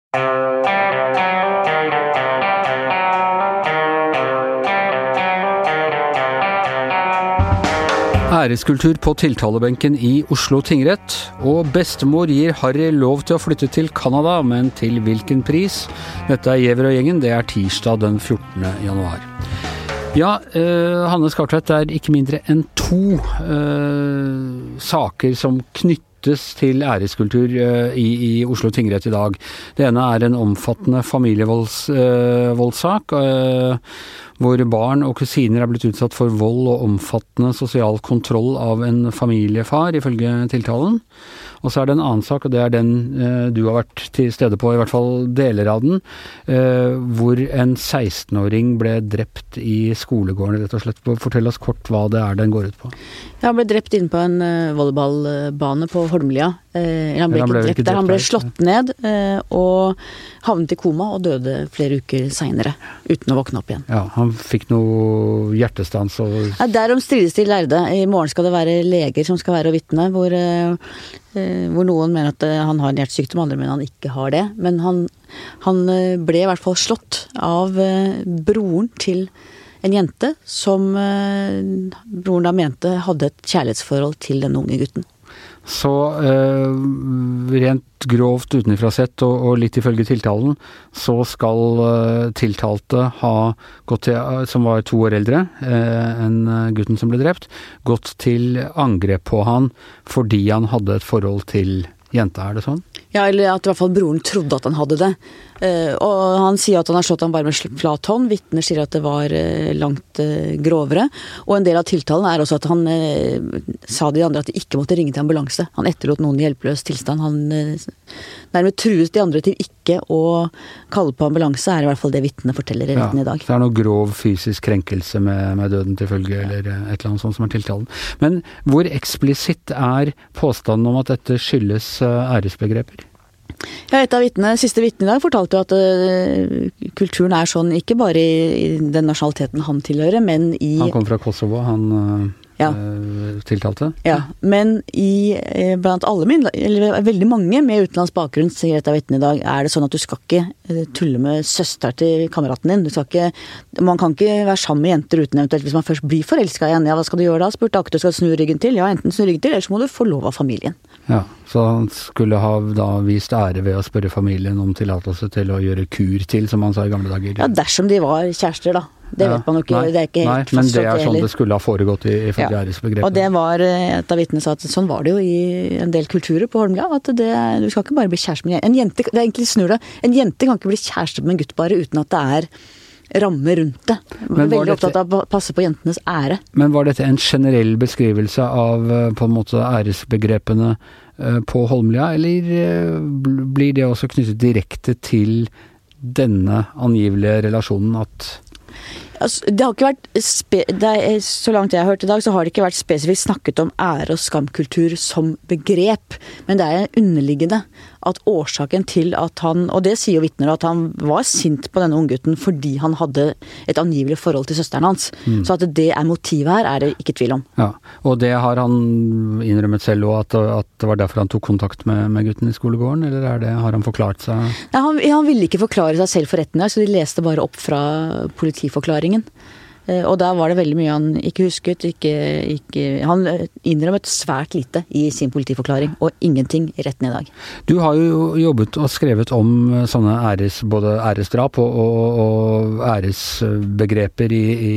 Æreskultur på tiltalebenken i Oslo tingrett, og bestemor gir Harry lov til å flytte til Canada, men til hvilken pris? Dette Giæver og gjengen, det tirsdag den 14. januar. Ja, Hanne Skartvedt, det ikke mindre enn 2 saker som knyttes til æreskultur i Oslo tingrett i dag. Det ene en omfattende familievoldssak, hvor barn og kusiner blitt utsatt for vold og omfattende sosial kontroll av en familiefar, ifølge tiltalen. Og så det en annen sak, og det den du har vært til stede på, i hvert fall deler av den, hvor en 16-åring ble drept i skolegården, rett og slett. Fortell oss kort hva det den går ut på. Ja, han ble drept inne på en volleyballbane på Holmlia. Han ble ikke drept der, han ble slått ned og havnet i koma og døde flere uker senere, uten å våkne opp igjen. Ja, han fikk noe hjertestans og... Ja, derom strides de lærde. I morgen skal det være leger som skal være og vitne, hvor noen mener at han har en hjertesykdom, andre mener han ikke har det. Men han ble i hvert fall slått av broren til en jente som broren da mente hadde et kjærlighetsforhold til den unge gutten. Så rent grovt utenfra sett og litt ifølge tiltalen, så skal tiltalte ha gått til, som var 2 år eldre enn gutten som ble drept, gått til angrep på han fordi han hadde et forhold til jenta, det sånn? Ja, eller at i hvert fall broren trodde at han hadde det. Og han sier at han har slått han bare med flat hånd. Vitner sier at det var langt grovere. Og en del av tiltalen også at han sa de andre at de ikke måtte ringe til ambulanse. Han etterlot noen i hjelpeløs tilstand. Han nærmest truet de andre til ikke å kalle på ambulanse, i hvert fall det vitnene forteller i retten i dag. Så det noe grov fysisk krenkelse med døden til følge, eller et eller annet sånt som tiltalen. Men hvor eksplisitt påstanden om at dette skyldes æresbegreper? Ja, et av siste vitnene i dag fortalte jo at kulturen sånn, ikke bare i den nasjonaliteten han tilhører, men i... Han kom fra Kosovo, tiltalte? Ja, men blant veldig mange med utenlands bakgrunn, sier et av vitnene i dag, det sånn at du skal ikke tulle med søster til kameraten din. Man kan ikke være sammen med jenter uten eventuelt, hvis man først blir forelsket igjen. Ja, hva skal du gjøre da? Spurte akkurat, skal du snu ryggen til? Ja, enten snu ryggen til, eller så må du få lov av familien. Ja, så han skulle ha da vist ære ved å spørre familien om tillatelse til å gjøre kur til, som han sa i gamle dager. Ja, dersom de var kjærester da. Det vet man jo ikke, det ikke helt fastslått. Men det sånn det skulle ha foregått i følge æresbegrepet. Og det var, et av vitnene sa at sånn var det jo i en del kulturer på Holmlia, at du skal ikke bare bli kjæreste med en jente. Det egentlig snur det. En jente kan ikke bli kjæreste med en gutt bare uten at det ramme rundt det. Veldig opptatt av å passe på jentenes ære. Men var dette en generell beskrivelse av på en måte æresbegrepene på Holmlia, eller blir det også knyttet direkte til denne angivelige relasjonen at... Altså, det har ikke vært, så langt jeg har hørt i dag, så har det ikke vært spesifikt snakket om ære- og skamkultur som begrep, men det underliggende at årsaken til at han, og det sier jo vitner, at han var sint på denne unggutten fordi han hadde et angivelig forhold til søsteren hans. Så at det motivet her, det ikke tvil om. Ja, og det har han innrømmet selv også, at det var derfor han tok kontakt med gutten i skolegården, eller har han forklart seg? Nei, han ville ikke forklare seg selv for retten her, så de leste bare opp fra politiforklaringen. Og der var det veldig mye han ikke husket, han innrømmet svært lite i sin politiforklaring, og ingenting i retten i dag. Du har jo jobbet og skrevet om sånne både æresdrap og æresbegreper i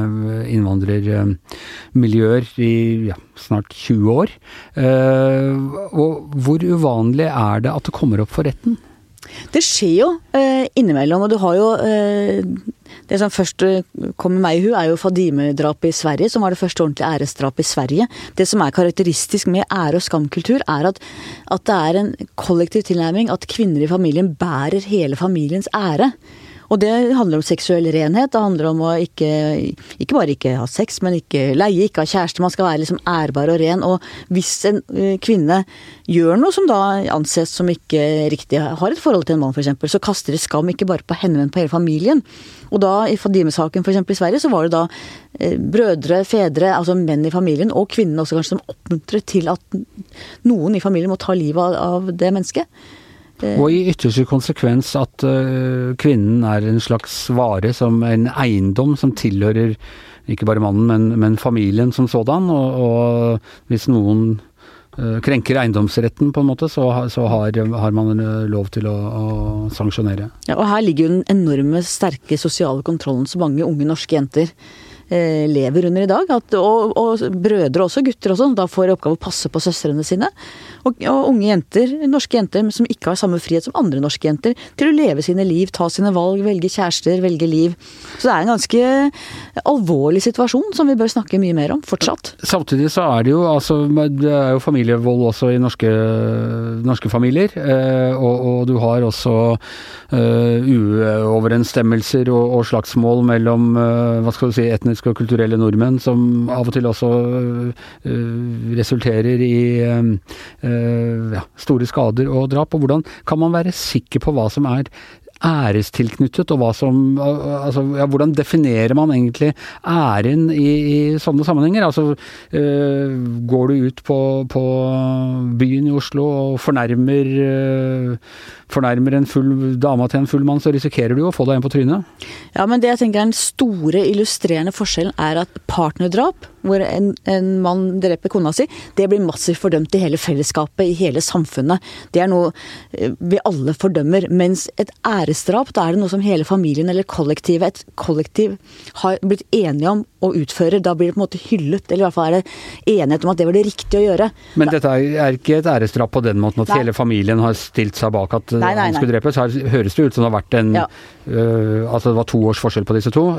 innvandrermiljøer i snart 20 år. Og hvor uvanlig det at det kommer opp for retten? Det skjer jo innimellom, og du har jo det som først kommer meg i hu jo Fadime-drapet i Sverige, som var det første ordentlige æresdrapet i Sverige. Det som karakteristisk med ære- og skamkultur at det en kollektiv tilnærming, at kvinner i familien bærer hele familiens ære. Og det handler om seksuell renhet, det handler om å ikke bare ikke ha sex, men ikke leie, ikke ha kjæreste, man skal være liksom ærbar og ren, og hvis en kvinne gjør noe som da anses som ikke riktig, har et forhold til en mann for eksempel, så kaster det skam ikke bare på henne, men på hele familien. Og da i Fadime-saken for eksempel i Sverige, så var det da brødre, fedre, altså menn i familien, og kvinnene også kanskje som oppmuntret til at noen i familien må ta livet av det mennesket. Og i ytterste konsekvens at kvinnen en slags vare, som en eiendom som tilhører ikke bare mannen, men familien som sådan, og hvis noen krenker eiendomsretten på en måte, så har man lov til å sanksjonere. Ja, og her ligger jo den enorme, sterke sosiale kontrollen som mange unge norske jenter lever under i dag, og brødre også, gutter også, da får oppgave å passe på søstrene sine, og unge jenter, norske jenter, som ikke har samme frihet som andre norske jenter, til å leve sine liv, ta sine valg, velge kjærester, velge liv. Så det en ganske alvorlig situasjon som vi bør snakke mye mer om, fortsatt. Samtidig så det jo, altså, det jo familievold også i norske familier, og du har også uoverensstemmelser og slagsmål mellom, hva skal du si, etniske og kulturelle nordmenn, som av og til også resulterer i store skader og drap. Og hvordan kan man være sikker på hva som ærestilknyttet, og hva som, altså, hvordan definerer man egentlig æren i sånne sammenhenger? Altså, går du ut på byen i Oslo og fornærmer en full dame til en full mann, så risikerer du å få deg en på trynet. Ja, men det jeg tenker den store illustrerende forskjellen at partnerdrap, hvor en mann dreper kona si, det blir massivt fordømt i hele fellesskapet, i hele samfunnet. Det noe vi alle fordømmer, mens et æresdrap, da det noe som hele familien eller et kollektiv har blitt enige om å utføre. Da blir det på en måte hyllet, eller i hvert fall det enighet om at det var det riktige å gjøre. Men dette ikke et æresdrap på den måten at hele familien har stilt seg bak at han skulle drepes. Her høres det ut som det har vært altså det var 2 års forskjell på disse to.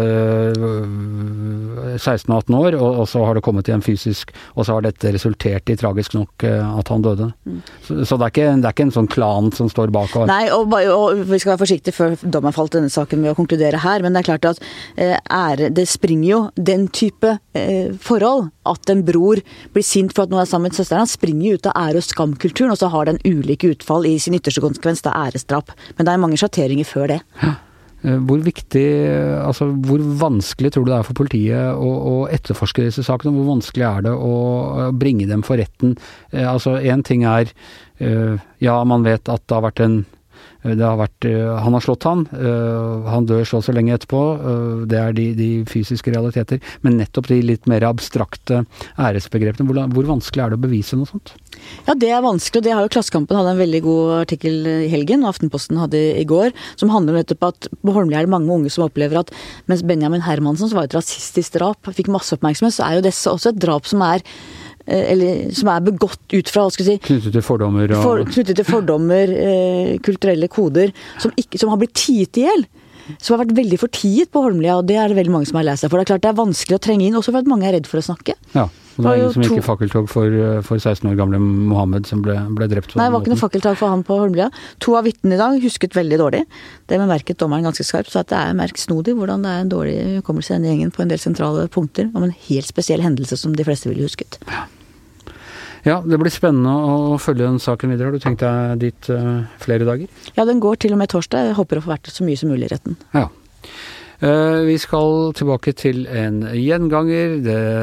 16 og 18 år, og så har det kommet til en fysisk, og så har dette resultert i tragisk nok at han døde. Så det ikke en sånn klan som står bak. Nei, og vi skal være forsiktige før dommen falt denne saken med å konkludere her, men det klart at det springer jo den type forhold, at en bror blir sint for at noen sammen med søsteren, han springer jo ut av ære- og skamkulturen, og så har den ulike utfall i sin ytterste konsekvens, det æresdrap. Men det mange sjatteringer før det. Ja. Hvor viktig, altså hvor vanskelig tror du det for politiet å etterforske disse sakene? Hvor vanskelig det å bringe dem for retten? Altså en ting man vet at det har vært han har slått han dør så lenge etterpå, det de fysiske realiteter, men nettopp de litt mer abstrakte æresbegrepene, hvor vanskelig det å bevise noe sånt? Ja, det vanskelig, og det har jo Klassekampen hadde en veldig god artikkel i helgen, og Aftenposten hadde i går, som handler nettopp at på Holmlia det mange unge som opplever at mens Benjamin Hermansen, som var et rasistisk drap, fikk masse oppmerksomhet, så jo dette også et drap som som begått ut fra, hva skal jeg si, knyttet til fordommer, kulturelle koder, som har blitt tiet i hjel. Som har vært veldig fortiet på Holmlia, og det det veldig mange som har lest seg. For det klart det vanskelig å trenge inn, også for at mange redd for å snakke. Ja, og det ingen som gikk i fakkeltog for 16 år gamle Mohammed som ble drept. Nei, det var ikke noe fakkeltog for han på Holmlia. 2 av vitnene i dag husket veldig dårlig. Det bemerket dommeren ganske skarpt, så at det merksnodig hvordan det en dårlig hukommelse i denne gjengen på en del sentrale punkter, om en helt spesiell hendelse som de fleste ville husket. Ja, det blir spennende å følge den saken videre. Har du tenkt deg dit flere dager? Ja, den går til og med torsdag. Jeg håper å få vært så mye som mulig i retten. Ja. Vi skal tilbake til en gjenganger.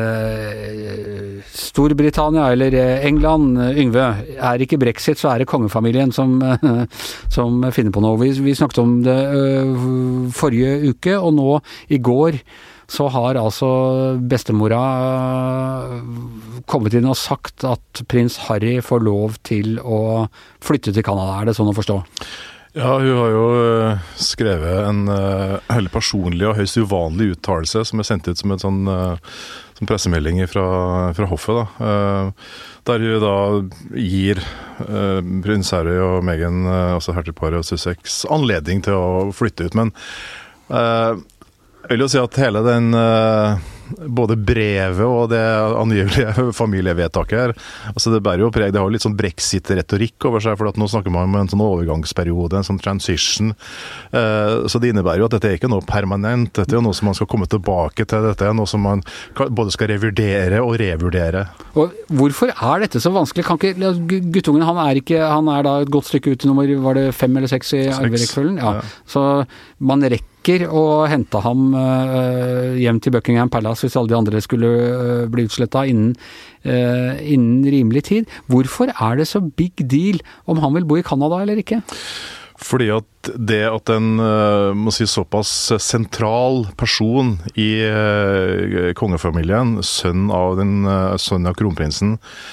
Storbritannia eller England, Yngve, ikke brexit, så det kongefamilien som finner på noe. Vi snakket om det forrige uke, og nå i går så har altså bestemora kommet inn og sagt at prins Harry får lov til å flytte til Canada. Det sånn å forstå? Ja, hun har jo skrevet en veldig personlig og høyst uvanlig uttalelse som sendt ut som en sånn pressemelding fra hoffet, da. Der hun da gir prins Harry og Meghan, altså hertugparet og Sussex, anledning til å flytte ut. Men jeg vil jo si at hele den både brevet og det angivelige familievedtaket her, altså det bærer jo preg, det har jo litt sånn brexit-retorikk over seg, for at nå snakker man om en sånn overgangsperiode, en sånn transition, så det innebærer jo at dette ikke noe permanent, dette jo noe som man skal komme tilbake til, dette noe som man både skal revurdere og revurdere. Og hvorfor dette så vanskelig? Kan ikke, guttungen han da et godt stykke ut i nummer, var det 5 eller 6 i arverekkefølgen? Ja. Så man rekker rekker å hente ham hjem til Buckingham Palace hvis alle de andre skulle bli utslettet innen rimelig tid. Hvorfor er det så big deal om han vil bo i Canada eller ikke? Fordi at det at en må si såpass sentral person i kongefamilien, sønn av kronprinsen,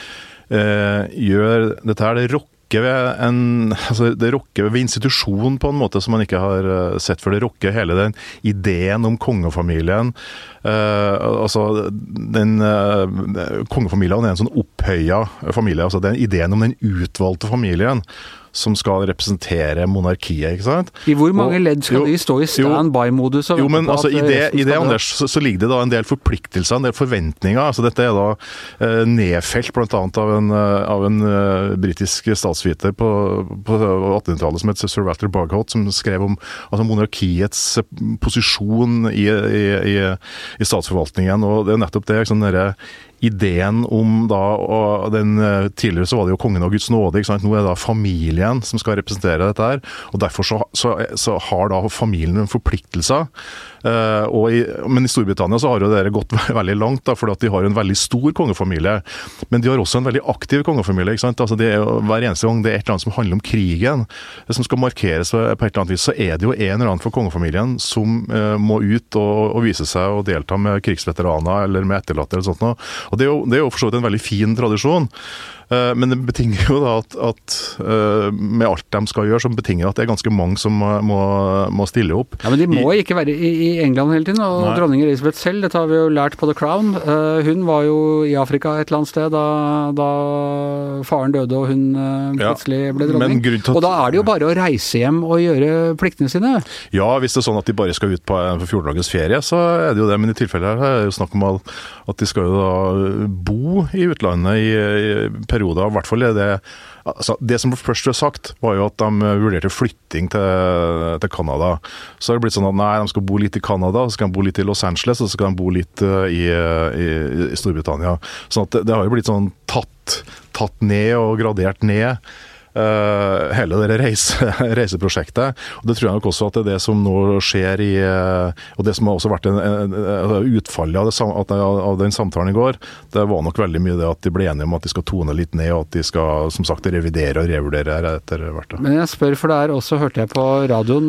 gjør dette her, det rokker ved institusjonen på en måte som man ikke har sett før. Det rokker hele den ideen om kongefamilien. Kongefamilien er en sånn opphøyet familie. Altså den ideen om den utvalgte familien som skal representere monarkiet, ikke sant? I hvor mange ledd skal de stå i stand-by-modus? Jo, men altså, i det Anders, så ligger det da en del forpliktelser, en del forventninger. Altså, dette er da nedfelt blant annet av en britisk statsviter på 1800-tallet som heter Sir Walter Bagehot, som skrev om monarkiets posisjon i statsforvaltningen, og det er nettopp det, liksom, ideen om da, og tidligere så var det jo kongen og Guds nåde, ikke sant? Nå er det da familien som skal representere dette her, og derfor så har da familien en forpliktelse, men i Storbritannia så har jo dere gått veldig langt da, fordi at de har en veldig stor kongefamilie, men de har også en veldig aktiv kongefamilie, ikke sant? Altså det er jo, hver eneste gang det er et eller annet som handler om krigen, det som skal markeres på et eller annet vis, så er det jo en eller annen for kongefamilien som må ut og vise seg og delta med krigsveteraner eller med etterlatte eller sånt noe. Og det er jo for så vidt en veldig fin tradisjon, men det betinger jo da at med alt de skal gjøre, så betinger at det er ganske mange som må stille opp. Ja, men de må ikke være i England hele tiden, og dronning Elisabeth selv, dette har vi jo lært på The Crown. Hun var jo i Afrika et eller annet sted da faren døde og hun plutselig ble dronning. Og da er det jo bare å reise hjem og gjøre pliktene sine. Ja, hvis det er sånn at de bare skal ut på 14 dagers ferie, så er det jo det, men i tilfellet her er det jo snakk om at de skal jo da bo i utlandet i perioder, i hvert fall er det det som først var sagt, var jo at de vurderte flytting til Canada. Så har det blitt sånn at nei, de skal bo litt i Canada, så skal de bo litt i Los Angeles, og så skal de bo litt i Storbritannia. Sånn at det har jo blitt sånn tatt ned og gradert ned hele det reiseprosjektet. Og det tror jeg nok også at det er det som nå skjer og det som har også vært utfallet av den samtalen i går, det var nok veldig mye det at de ble enige om at de skal tone litt ned, og at de skal, som sagt, revidere og revurdere etter hvert. Men jeg spør, for der også hørte jeg på radioen,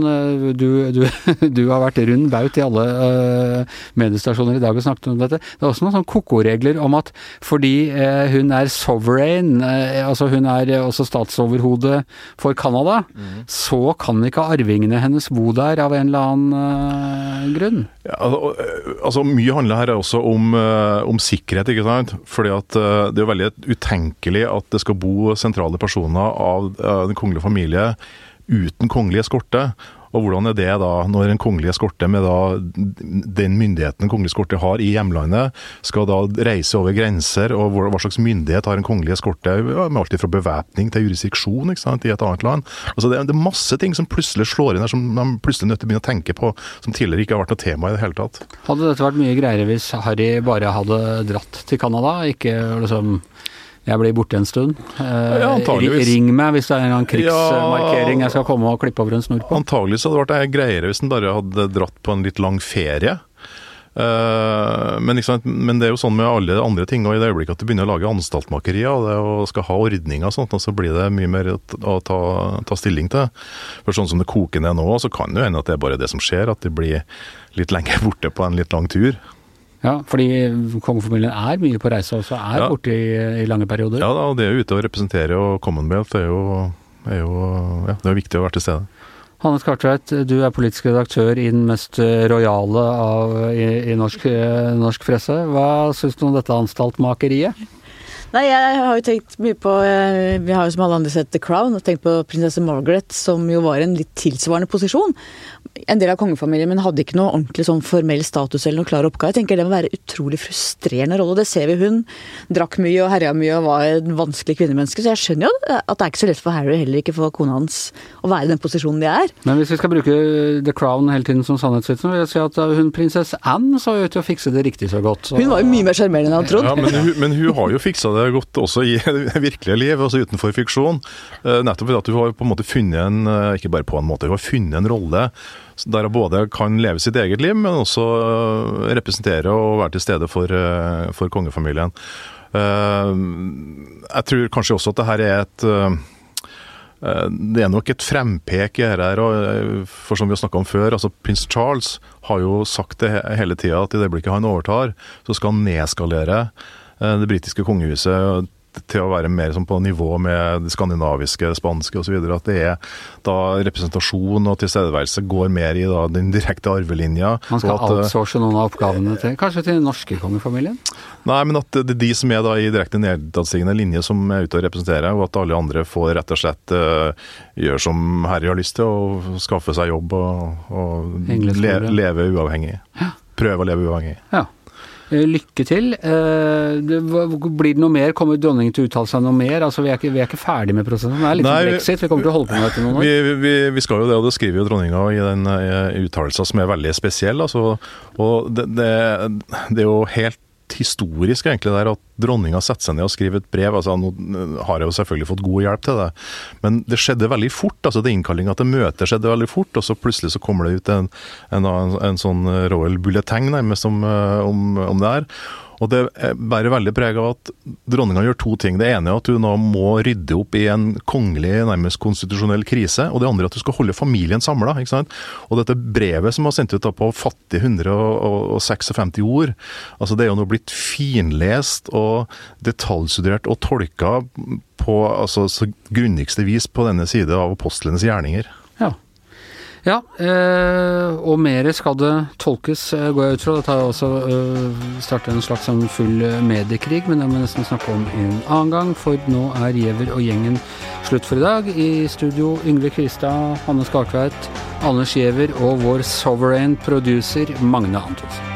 du har vært rund baut i alle mediestasjoner i dag og snakket om dette. Det er også noen sånne koko-regler om at fordi hun er sovereign, altså hun er også statsoverhode for Canada, så kan ikke arvingene hennes bo der av en eller annen grunn. Ja, altså mye handler her også om sikkerhet, ikke sant? Fordi at det er veldig utenkelig at det skal bo sentrale personer av den kongelige familie uten kongelig eskorte. Og hvordan er det da, når en kongelig eskorte med da den myndigheten en kongelig eskorte har i hjemlandet, skal da reise over grenser, og hva slags myndighet har en kongelig eskorte, med alt fra bevæpning til jurisdiksjon, ikke sant, i et annet land. Altså det er masse ting som plutselig slår inn her, som de plutselig nødt til å begynne å tenke på, som tidligere ikke har vært noe tema i det hele tatt. Hadde dette vært mye greiere hvis Harry bare hadde dratt til Canada, ikke liksom... Jeg blir borte en stund. Ring meg hvis det er en krigsmarkering jeg skal komme og klippe over en snor på. Antagelig så hadde det vært greiere hvis den bare hadde dratt på en litt lang ferie. Men det er jo sånn med alle andre ting, og i det øyeblikket at du begynner å lage anstaltmakerier og det og skal ha ordninger og sånt, så blir det mye mer å ta stilling til. For sånn som det koker ned nå, så kan det jo hende at det er bare det som skjer, at det blir litt lenger borte på en litt lang tur. Ja, fordi kongefamilien er mye på reise også, borte i lange perioder. Ja, og det er jo ute å representere, og Commonwealth det er viktig å være til stede. Hanne Skartveit, du er politisk redaktør i den mest rojale i norsk presse. Hva synes du om dette anstaltmakeriet? Nei, jeg har jo tenkt mye på, vi har jo som alle andre sett The Crown, og tenkt på prinsesse Margaret, som jo var en litt tilsvarende posisjon. En del av kongefamilien, men hadde ikke noe ordentlig sånn formell status eller noe klar oppgave. Jeg tenker det må være utrolig frustrerende rolle, og det ser vi hun drakk mye og herja mye og var en vanskelig kvinnemenneske, så jeg skjønner jo at det er ikke så lett for Harry, heller ikke for kona hans, å være i den posisjonen de er. Men hvis vi skal bruke The Crown hele tiden som sannhetsvitsen, vil jeg si at hun prinsesse Anne så ut til å fikse det riktig så godt. Så... Hun var jo mye mer skjermerende enn han trodde. Ja, men hun har jo fiksa det godt også i virkelige liv, også utenfor fiksjon. Nettopp fordi at du har på en måte funnet ikke bare på en måte, du har funnet en rolle der hun både kan leve sitt eget liv, men også representere og være til stede for kongefamilien. Jeg tror kanskje også at det her det nok et frempek i her, og for som vi har snakket om før, altså prins Charles har jo sagt det hele tiden at i det øyeblikket han overtar, så skal han nedskalere det britiske kongehuset til å være mer som på nivå med det skandinaviske, det spanske og så videre, at det da representasjon og tilstedeværelse går mer i da, den direkte arvelinja. Man skal outsource noen av oppgavene kanskje til den norske kongefamilien? Nei, men at det de som da i direkte nedadstigende linje som ute og representerer, og at alle andre får rett og slett gjøre som Harry har lyst til, og skaffe seg jobb og leve uavhengig. Ja. Prøve å leve uavhengig. Ja. Lykke til. Blir det noe mer? Kommer dronningen til å uttale seg noe mer? Altså, vi er ikke ferdig med prosessen. Det litt som Brexit. Vi kommer til å holde på med dette noen år. Vi skal jo det, og det skriver jo dronninga i den uttalelsen som veldig spesiell. Altså, og det er jo helt historisk egentlig der at dronninga setter seg ned og skriver et brev. Altså, nå har jeg jo selvfølgelig fått god hjelp til det, men det skjedde veldig fort. Altså, det innkallinga til møte skjedde veldig fort, og så plutselig så kommer det ut en sånn royal bulletin nærmest om det her. Og det bærer veldig preg av at dronninga gjør to ting. Det ene er at hun nå må rydde opp i en kongelig, nærmest konstitusjonell krise, og det andre er at hun skal holde familien samlet, ikke sant? Og dette brevet som var sendt ut da på fattige 156 ord, altså det er jo nå blitt finlest og detaljstudert og tolka på altså, så grundigste vis på denne side av apostlenes gjerninger. Ja, og mer skal det tolkes, går jeg ut fra. Det tar også startet en slags full mediekrig, men det må vi nesten snakke om en annen gang, for nå Giæver og gjengen slutt for i dag. I studio Yngve Kvistad, Hanne Skartveit, Anders Giæver og vår sovereign producer Magne Antonsen.